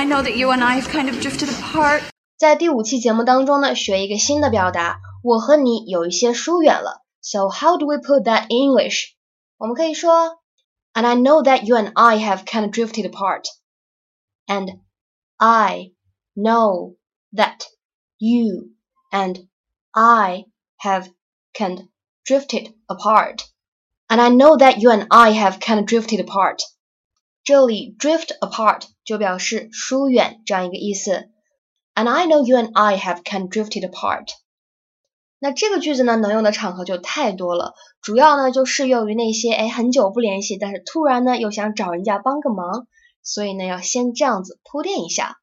I know that you and I have kind of drifted apart. 在第5期节目当中呢，学一个新的表达，我和你有一些疏远了。So how do we put that in English? 我们可以说 And I know that you and I have kind of drifted apart. And I know that you and I have kind of drifted apart. And I know that you and I have kind of drifted apart. 这里 drift apart 就表示疏远这样一个意思。And I know you and I have kind of drifted apart. 那这个句子呢，能用的场合就太多了，主要呢就适用于那些很久不联系，但是突然呢又想找人家帮个忙，所以呢要先这样子铺垫一下。